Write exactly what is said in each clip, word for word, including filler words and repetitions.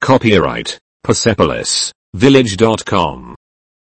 Copyright Persepolis Village dot com.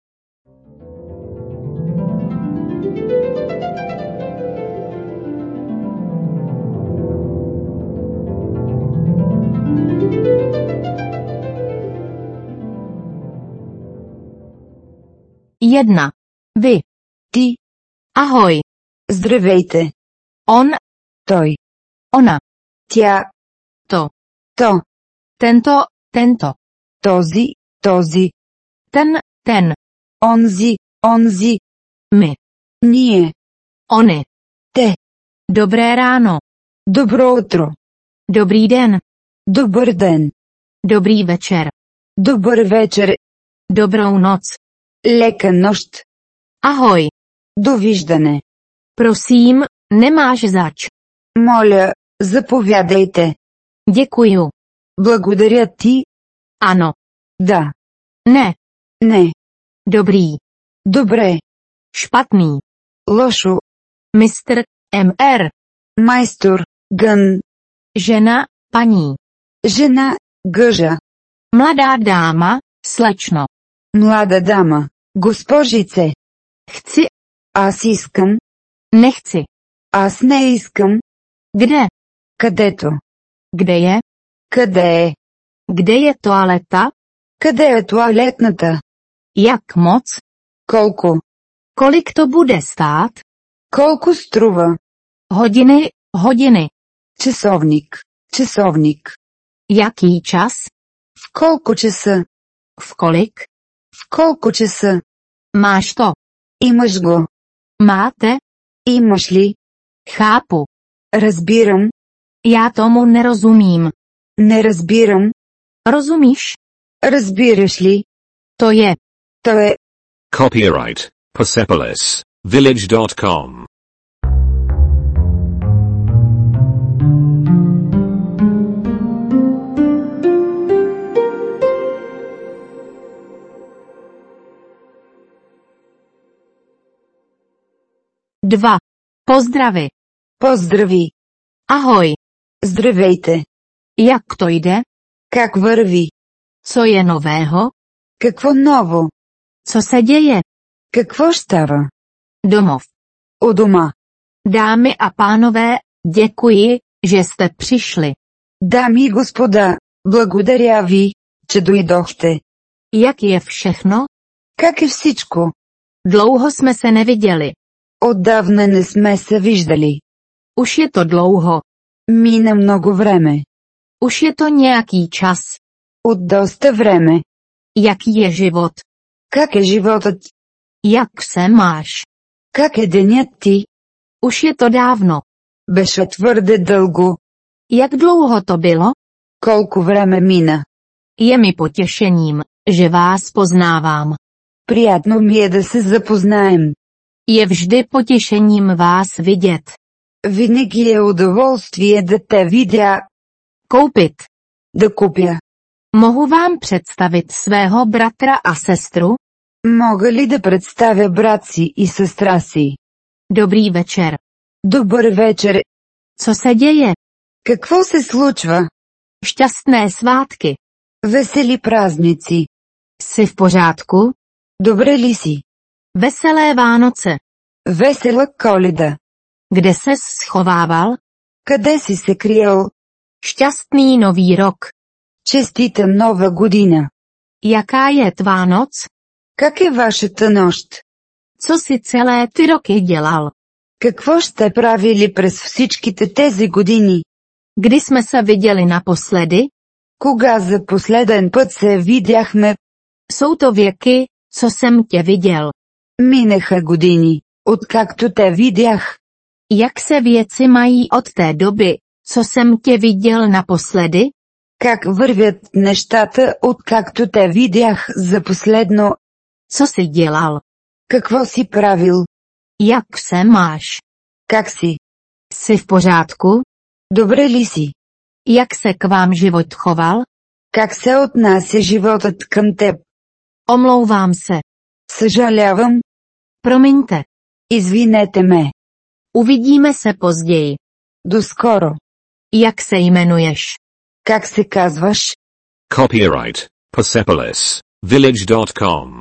Jedna. Vy. Ty. Ahoj. Здравейте. On. Той. Ona. Тя. To. То. Tento. Tento. Този. Този. Ten. Ten. Онзи. Онзи. My. Ние. Ony. Те. Dobré ráno. Добро утро. Dobrý den. Добър ден. Dobrý večer. Добър вечер. Dobrou noc. Лека нощ. Ahoj. Довиждане. Prosím, nemáš zač. Моля, заповядайте. Děkuju. Благодаря ти. Ano. Да. Ne. Не. Dobrý. Добре. Špatný. Лошо. Mistr. Mr. Майстор. Гън. Žena. Paní. Жена. Гъжа. Mladá dáma. Slečno. Млада дама. Госпожице. Chci. Аз искам. Nechci. Аз не искам. Kde? Където. Kde je? Къде е? Kde je toaleta? Къде е туалетната? Jak moc? Колко? Kolik to bude stát? Колко струва? Hodiny, hodiny. Часовник. Часовник. Jaký čas? В колко часа? V kolik? В колко часа? Máš to. Имаш го. Máte? Имаш ли? Chápu. Разбирам. Já tomu nerozumím. Не разбирам. Rozumíš? Разбираш ли? To je. То е. Copyright Persepolis Village dot com. Dva. Pozdravy. Поздрави. Ahoj. Здравейте. Jak to jde? Как върви? Co je nového? Какво ново? Co se děje? Какво става? Domov. У дома. Dámy a pánové, děkuji, že jste přišli. Дами и господа, благодаря ви, че дойдохте. Jak je všechno? Как е всичко? Dlouho jsme se neviděli. Отдавна не сме се виждали. Už je to dlouho. Мина много време. Už je to nějaký čas. От доста време. Jaký je život? Как е животът? Jak se máš? Как е денят ти? Už je to dávno. Беше твърде дълго. Jak dlouho to bylo? Колко време мина? Je mi potěšením, že vás poznávám. Приятно ми е да се запознаем. Je vždy potěšením vás vidět. Винаги е удоволствие да те видя. Koupit. Да купя. Mohu vám představit svého bratra a sestru? Мога ли да представя брат си и сестра си? Dobrý večer. Добър вечер. Co se děje? Какво се случва? Šťastné svátky. Весели празници. Jsi v pořádku? Добре ли си? Veselé Vánoce. Весела Коледа. Kde ses schovával? Къде си се криел? Šťastný nový rok. Честита нова година. Jaká je tvá noc? Как е вашата нощ? Co si celé ty roky dělal? Какво сте правили през всичките тези години? Kdy jsme se viděli naposledy? Кога за последен път се видяхме? Jsou to věky, co jsem tě viděl. Минаха години, откакто те видях. Jak se věci mají od té doby, co jsem tě viděl naposledy? Как вървят нещата, откакто те видях за последно? Co jsi dělal? Какво си правил? Jak se máš? Как си? Jsi v pořádku? Добре ли си? Jak se k vám život choval? Как се отнася животът към теб? Omlouvám se. Съжалявам. Promiňte. Извинете ме. Uvidíme se později. До скоро. Jak se jmenuješ? Как се казваш? Copyright Persepolis Village dot com.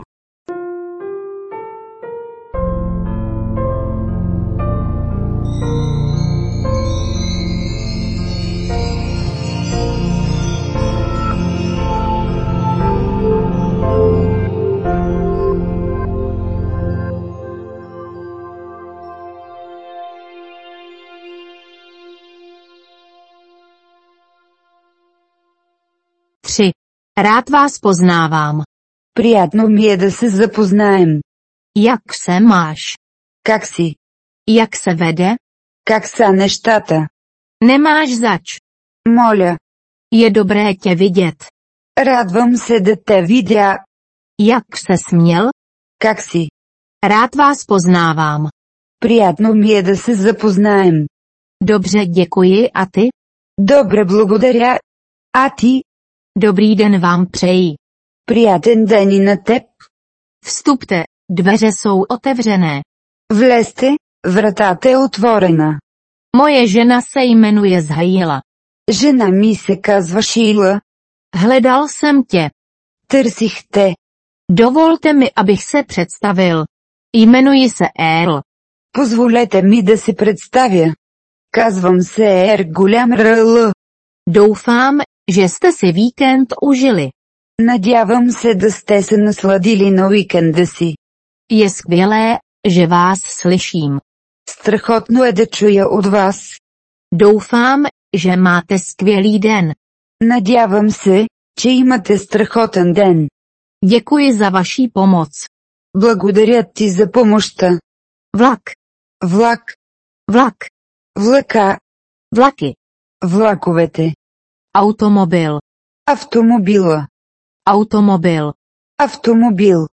tři. Rád vás poznávám. Приятно ми е да се запознаем. Jak se máš? Как си? Jak se vede? Как са нещата? Nemáš zač. Моля. Je dobré tě vidět. Радвам се да те видя. Jak se směl? Как си? Rád vás poznávám. Приятно ми е да се запознаем. Dobře, děkuji, a ty? Добре, благодаря. А ти? Dobrý den vám přeji. Приятен ден и на теб. Vstupte, dveře jsou otevřené. Влезте, вратата е отворена. Moje žena se jmenuje Zhaila. Жена ми се казва Шийла. Hledal jsem tě. Търсих те. Dovolte mi, abych se představil. Jmenuji se Earl. Позволете ми да се представя. Казвам се Ер Голям Ръл. Doufám, že jste si víkend užili. Надявам се да сте се насладили на уикенда си. Je skvělé, že vás slyším. Страхотно е да чуя от вас. Doufám, že máte skvělý den. Надявам се, че имате страхотен ден. Děkuji za vaši pomoc. Благодаря ти за помощта. Vlak, Влак. vlak, Влака. vlaky, Влаковете. automobil, Автомобила. automobil, Автомобил.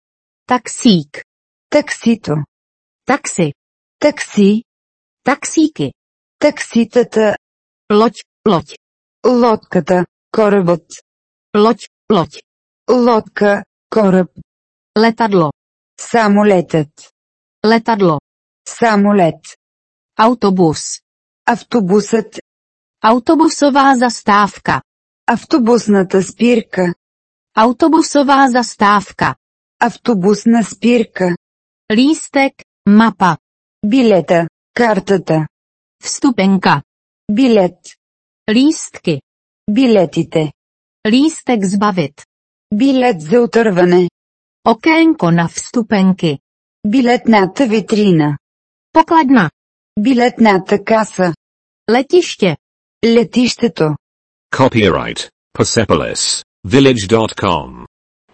taxík, Таксито. taxi, Такси. taxíky, Такситата. loď, loď, Лодката. Корабът. loď, loď, Лодка. Кораб. letadlo, Самолетът. letadlo, Самолет. autobus, Автобусът. autobusová zastávka, Автобусната спирка. autobusová zastávka, Автобусна спирка. lístek, mapa, Билета. Картата. vstupenka, Билет. lístky, Билетите. lístek zbavit, Билет за отърване. okénko na vstupenky, Билетната витрина. pokladna, Билетната каса. letiště, Летището. Copyright Persepolis Village dot com.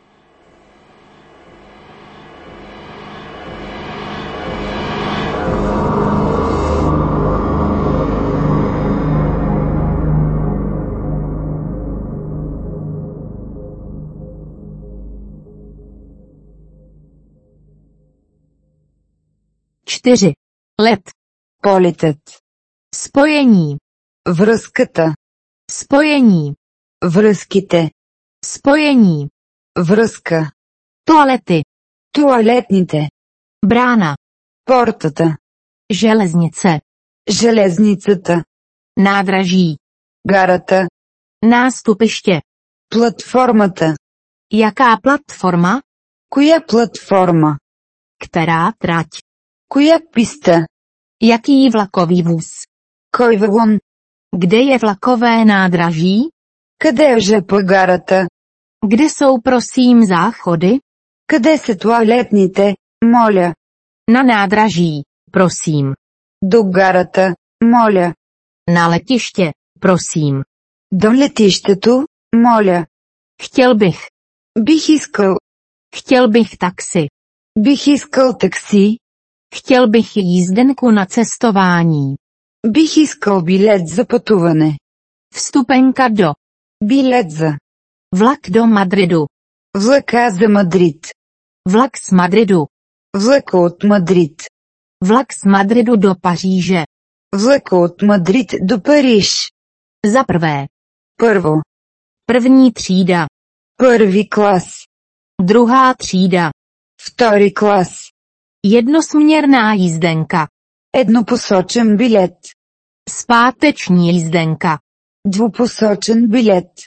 čtyři. Let, Полетът. spojení, Връзката. spojení, Връзките. spojení, Връзка. toalety, Туалетните. brána, Портата. železnice, Железницата. nádraží, Гарата. nástupiště. Платформата. Jaká platforma? Коя платформа? Která trať? Коя писта? Jaký vlakový vůz? Кой вагон? Kde je vlakové nádraží? Къде е жп гарата? Kde jsou prosím záchody? Къде са туалетните, моля? Na nádraží, prosím. До гарата, моля. Na letiště, prosím. До летището, моля. Chtěl bych. Бих искал. Chtěl bych taxi. Бих искал такси. Chtěl bych jízdenku na cestování. Бих искал билет за пътуване. Vstupenka do. Билет за. Vlak do Madridu. Влака за Мадрид. Vlak z Madridu. Влака от Мадрид. Vlak z Madridu do Paříže. Влака от Мадрид до Париж. Za prvé. Първо. První třída. Първи клас. Druhá třída. Втори клас. Jednosměrná jízdenka. Еднопосочен билет. Zpáteční jízdenka. Двупосочен билет.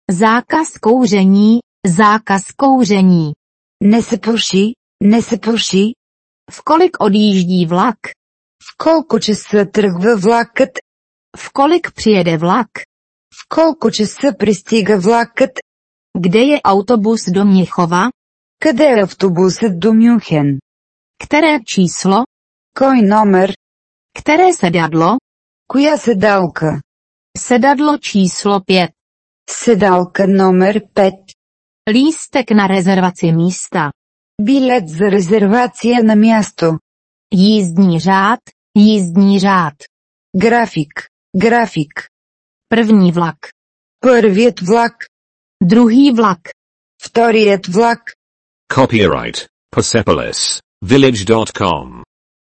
Zákaz kouření, zákaz kouření. Не се пуши, не се пуши. V kolik odjíždí vlak? В колко часа тръгва влакът? V kolik přijede vlak? В колко часа пристига влакът? Kde je autobus do Měchova? Къде е автобусът до Мюнхен? Které číslo? Кой номер? Které sedadlo? Коя седалка? Sedadlo číslo pět. Седалка номер пет. Lístek na rezervaci místa. Билет за резервация на място. Jízdní řád, jízdní řád. График, график. První vlak. Първият влак. Druhý vlak. Вторият влак. Copyright Persepolis Village dot com.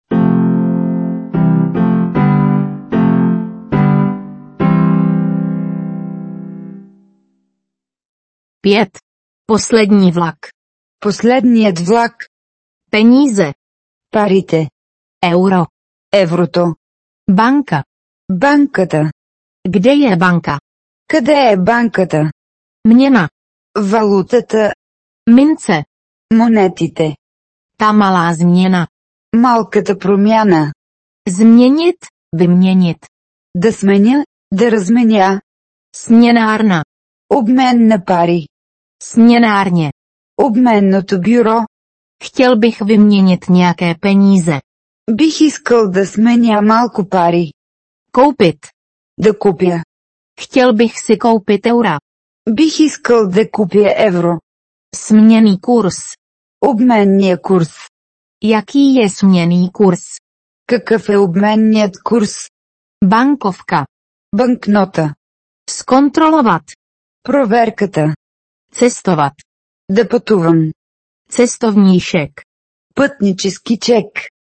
Pět. Poslední vlak. Последният влак. Peníze. Парите. Euro. Еврото. Banka. Банката. Kde je banka? Къде е банката? Měna. Валутата. Mince. Монетите. Ta malá změna. Малката промяна. Změnit, vyměnit. Да сменя, да разменя. Směnárna. Обмен на пари. Směnárně. Обменното бюро. Chtěl bych vyměnit nějaké peníze. Бих искал да сменя малко пари. Koupit. Да купя. Chtěl bych si koupit eura. Бих искал да купя евро. Směnný kurz. Обменния курс. Jaký je směnný kurz? Какъв е обменният курс? Bankovka. Банкнота. Zkontrolovat. Проверката. Cestovat. Да пътувам. Cestovní šek. Пътнически чек.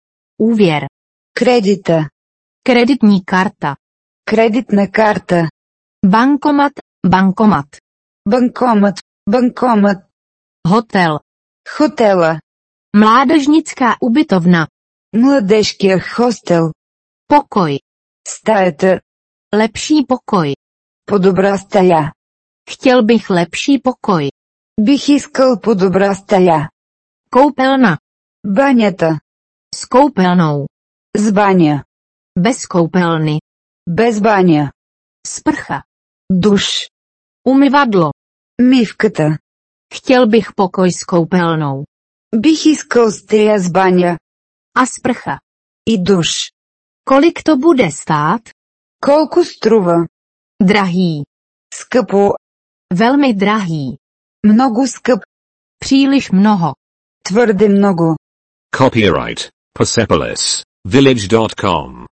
Úvěr. Кредита. Kreditní karta. Кредитна карта. Bankomat, bankomat. Банкомат. Банкомат. Hotel. Хотела. Mládežnická ubytovna. Младежкия хостел. Pokoj. Стаята. Lepší pokoj. По-добра стая. Chtěl bych lepší pokoj. Бих искал по-добра стая. Koupelna. Банята. S koupelnou. С баня. Bez koupelny. Без баня. Sprcha. Душ. Umyvadlo. Мивката. Chtěl bych pokoj s koupelnou. Бих искал стая с баня. A sprcha. И душ. Kolik to bude stát? Колко струва? Drahý. Скъпо. Velmi drahý. Много скъп. Příliš mnoho. Твърде много. Copyright Persepolis Village dot com.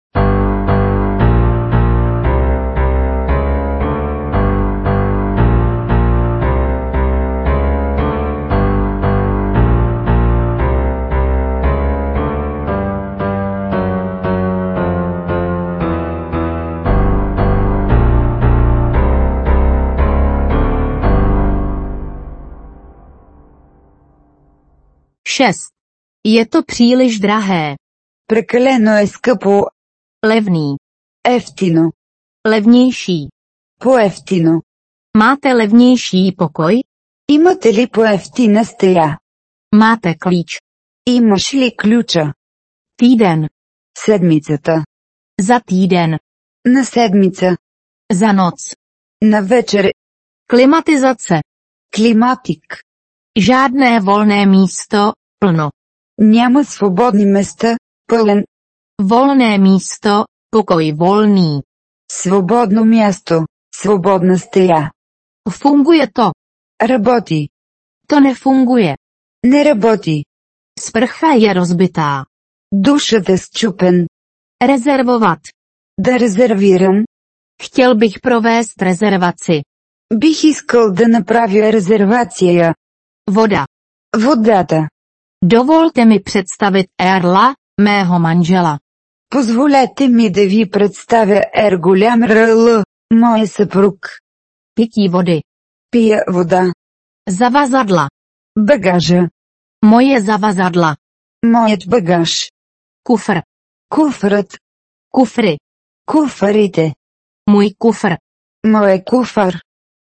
šest. Je to příliš drahé. Прекалено е скъпо. Levný. Ефтино. Levnější. По-ефтино. Máte levnější pokoj? Имате ли по-ефтина стая? Máte klíč. Имаш ли ключа? Týden. Седмицата. Za týden. На седмица. Za noc. На вечер. Klimatizace. Климатик. Žádné volné místo, plno. Няма свободни места. Пълен. Volné místo, pokoj volný. Свободно място. Свободна стая. Funguje to. Работи. To nefunguje. Не работи. Sprcha je rozbitá. Душът е счупен. Rezervovat. Да резервирам. Chtěl bych provést rezervaci. Бих искал да направя резервация. Voda. Водата. Dovolte mi představit Erla, mého manžela. Позволете ми да ви представя Ер голям Р.Л., моя съпруг. Pití vody. Пия вода. Zavazadla. Багажа. Moje zavazadla. Моят багаж. Kufr. Куфърът. Kufry. Куфарите. Můj kufr. Моя куфар.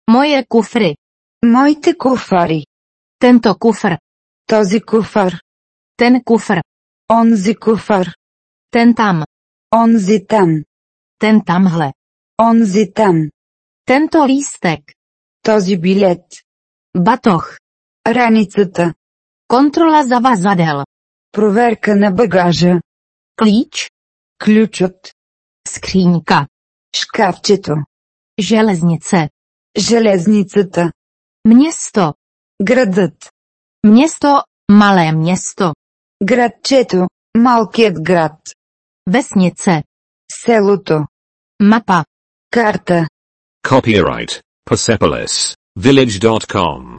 Moje kufry. Моите куфари. Tento kufr. Този куфар. Ten kufr. Онзи куфар. Ten tam. Онзи там. Ten tamhle. Онзи там. Tento lístek. Този билет. Batoh. Раницата. Kontrola zavazadel. Проверка на багажа. Klíč. Ключът. Skříňka. Шкафчето. Železnice. Железницата. Město. Градът. Město, malé město. Градчето. Малкият град. Vesnice. Селото. Mapa. Карта. Copyright Persepolis Village dot com.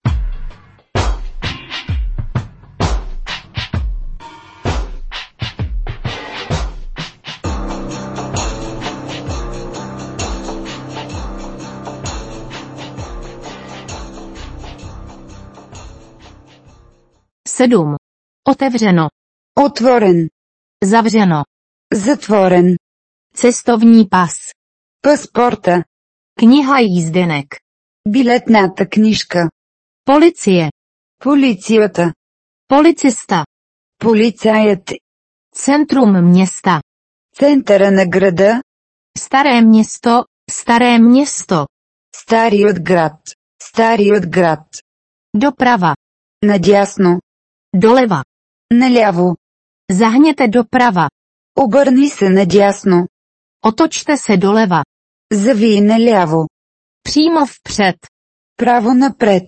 sedm. Otevřeno. Отворен. Zavřeno. Затворен. Cestovní pas. Паспорта. Kniha jízdenek. Билетната книжка. Policie. Полицията. Policista. Полицаят. Centrum města. Центъра на града. Staré město, staré město. Старият град. Старият град. Doprava. Надясно. Doleva. Наляво. Zahněte doprava. Обърни се надясно. Otočte se doleva. Завий наляво. Přímo vpřed. Право напред.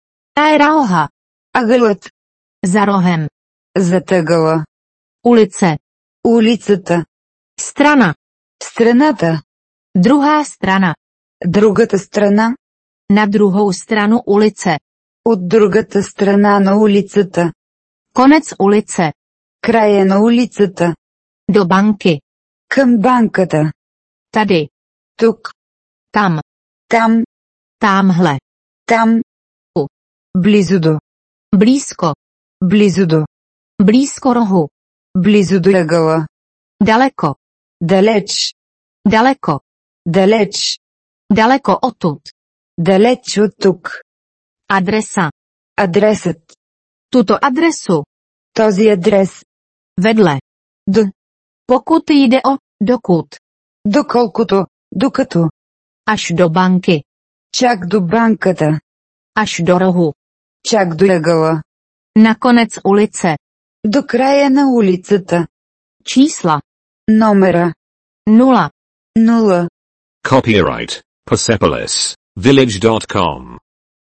Roha. Ъгълът. Za rohem. Зад ъгъла. Ulice. Улицата. Strana. Страната. Druhá strana. Другата страна. Na druhou stranu ulice. От другата страна на улицата. Konec ulice. Края на улицата. Do banky. Към банката. Tady. Тук. Tam. Там. Támhle. Там. У. Близо до. Blízko. Близо до. Blízko rohu. Близо до ъгъла. Daleko. Далеч. Daleko. Далеч. Daleko odtud. Далеч от тук. Adresa. Адресът. Tuto adresu. Този адрес. Vedle. До. Pokud jde o, dokud. Доколкото. Докато. Až do banky. Чак до банката. Až do rohu. Чак до ъгъла. Na konec ulice. До края на улицата. Čísla. Номера. Nula. Нула. Copyright Persepolis Village dot com.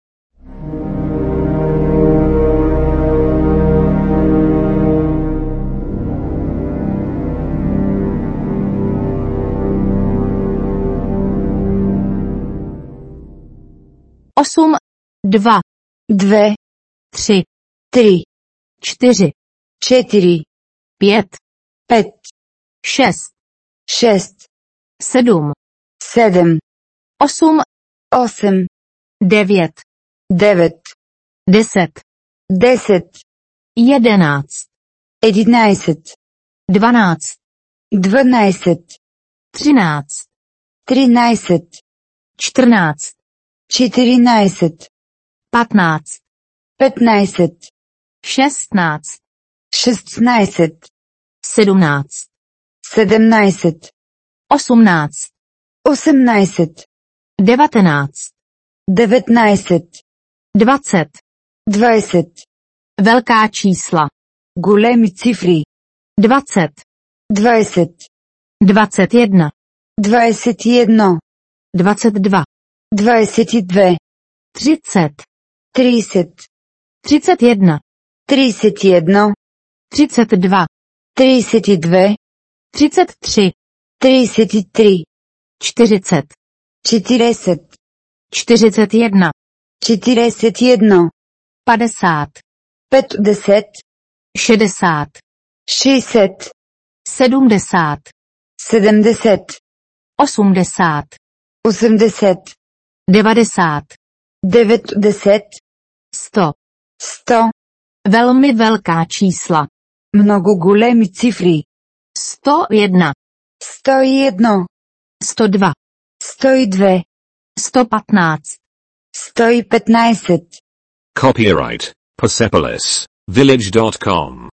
Osm. Dva. Две. Tři. Три. Čtyři. Четири. Pět. Пет. Šest. Шест. Sedm. Седем. Osm. Осем. Devět. Девет. Deset. Десет. Jedenáct. Единайсет. Dvanáct. Дванайсет. Třináct. Тринайсет. Čtrnáct. Четиринайсет. Patnáct. Петнайсет. Šestnáct. Шестнайсет. Sedmnáct. Седемнайсет. Osmnáct. Осемнайсет. Devatenáct. Деветнайсет. Dvacet. Двайсет. Velká čísla. Големи цифри. Dvacet. Двайсет. Dvacet jedna. Двайсет и едно. Dvacet dva. Двайсет и две. Třicet. Трийсет. Třicet jedna. Трийсет и едно. Třicet dva. Трийсет и две. Třicet tři. Трийсет и три. Čtyřicet. Четиресет. Čtyřicet jedna. Четиресет и едно. Padesát. Петдесет. Šedesát. Шейсет. Sedmdesát. Седемдесет. Osmdesát. Осемдесет. Devadesát. Деветдесет. Sto. Сто. Velmi velká čísla. Много големи цифри. Sto jedna. Сто и едно. Sto dva. Сто и две. Sto patnáct. sto patnáct. Copyright Persepolis Village dot com.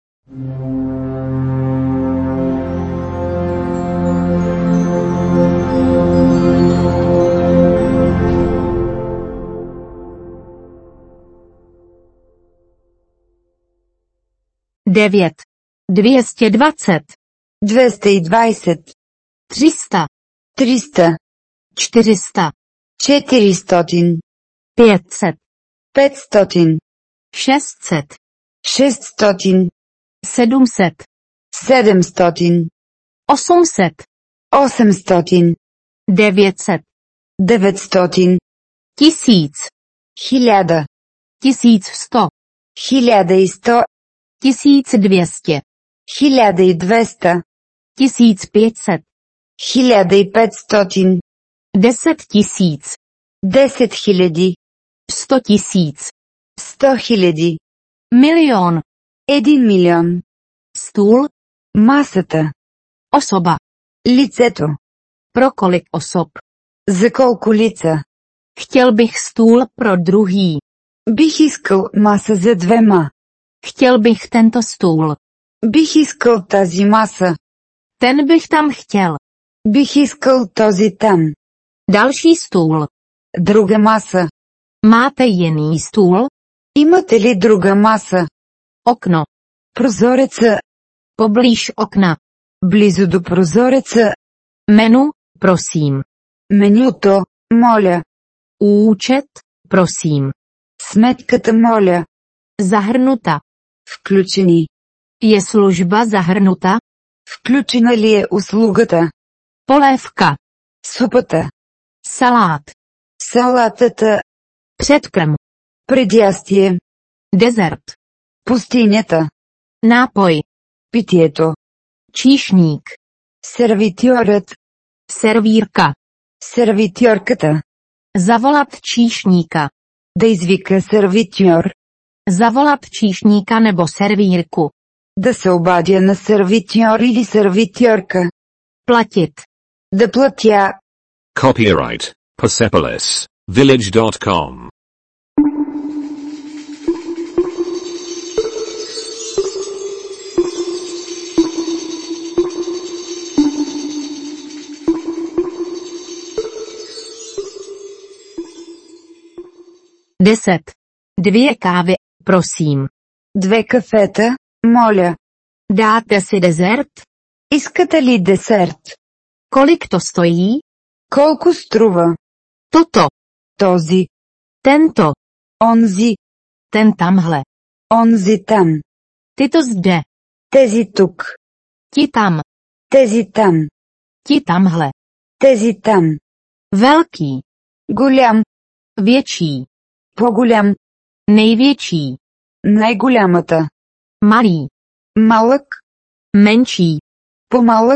devět. dvě stě dvacet. dvě stě dvacet. tři sta. tři sta. čtyři sta. čtyři sta. pět set. pět set. šest set. šest set. sedm set. sedm set. osm set. osm set. devět set. devět set. Tisíc. Hiljada. Tisíc sto. Hiljada i sto. Tisíc dvě stě. Hiljada i dvesta. Tisíc pět set. Hiljada i pet stotin. Deset tisíc. Deset hiljadi. Sto tisíc. Sto hiljadi. Milion. Един милион. Stůl. Масата. Osoba. Лицето. Pro kolik osob? За колко лица? Chtěl bych stůl pro druhý. Бих искал маса за двема. Chtěl bych tento stůl. Бих искал тази маса. Ten bych tam chtěl. Бих искал този там. Další stůl. Друга маса. Máte jiný stůl? Имате ли друга маса? Okno. Прозореца. Poblíž okna. Близо до прозореца. Menu, prosím. Менюто, моля. Účet, prosím. Сметката, моля. Zahrnuta. Включени. Je služba zahrnuta? Включена ли е услугата? Polévka. Супата. Salát. Салатата. Předkrm. Предястие. Dezert. Пустинята. Nápoj. Питието. Číšník. Сервитьорът. Servírka. Сервитьорката. Zavolat číšníka. Да извика сервитьор. Zavolat číšníka nebo servírku. Да се обадя на сервитьор или сервитьорка. Platit. Да платя. Copyright Persepolis Village dot com. Deset. Dvě kávy, prosím. Две кафета, моля. Dáte si dezert? Искате ли десерт? Kolik to stojí? Колко струва? Toto. Този. Tento. Онзи. Ten tamhle. Онзи там. Tyto zde. Тези тук. Ti tam. Тези там. Ti tamhle. Тези там. Velký. Голям. Větší. По-голям. Největší. Най-голямата. Malý. Малък. Menší. По-малък.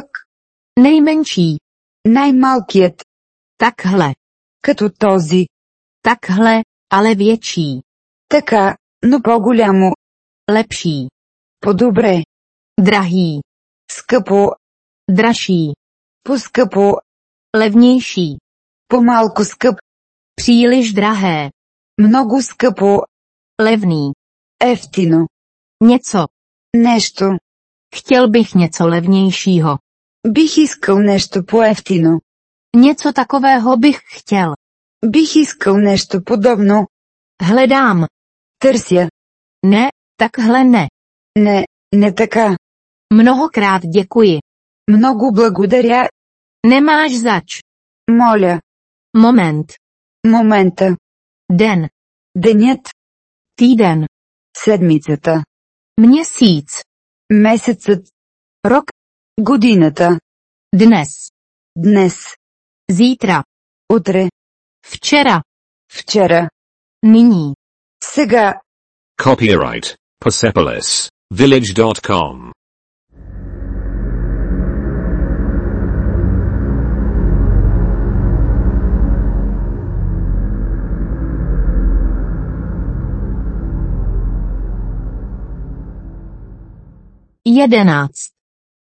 Nejmenší. Най-малкият. Takhle. Като този. Takhle, ale větší. Така, но по-голямо. Lepší. По-добре. Drahý. Скъпо. Dražší. По-скъпо. Levnější. По-малко скъп. Příliš drahé. Много скъпо. Levný. Ефтино. Něco. Нещо. Chtěl bych něco levnějšího. Бих искал нещо по-ефтино. Něco takového bych chtěl. Бих искал нещо подобно. Hledám. Търся. Ne, takhle ne. Не, не така. Mnohokrát děkuji. Много благодаря. Nemáš zač. Моля. Moment. Момента. Den. Денят. Týden. Седмицата. Měsíc. Месецът. Rok. Годината. Dnes. Днес. Zítra. Утре. Včera. Вчера. Nyní. Сега. Copyright Persepolis Village dot com. Jedenáct.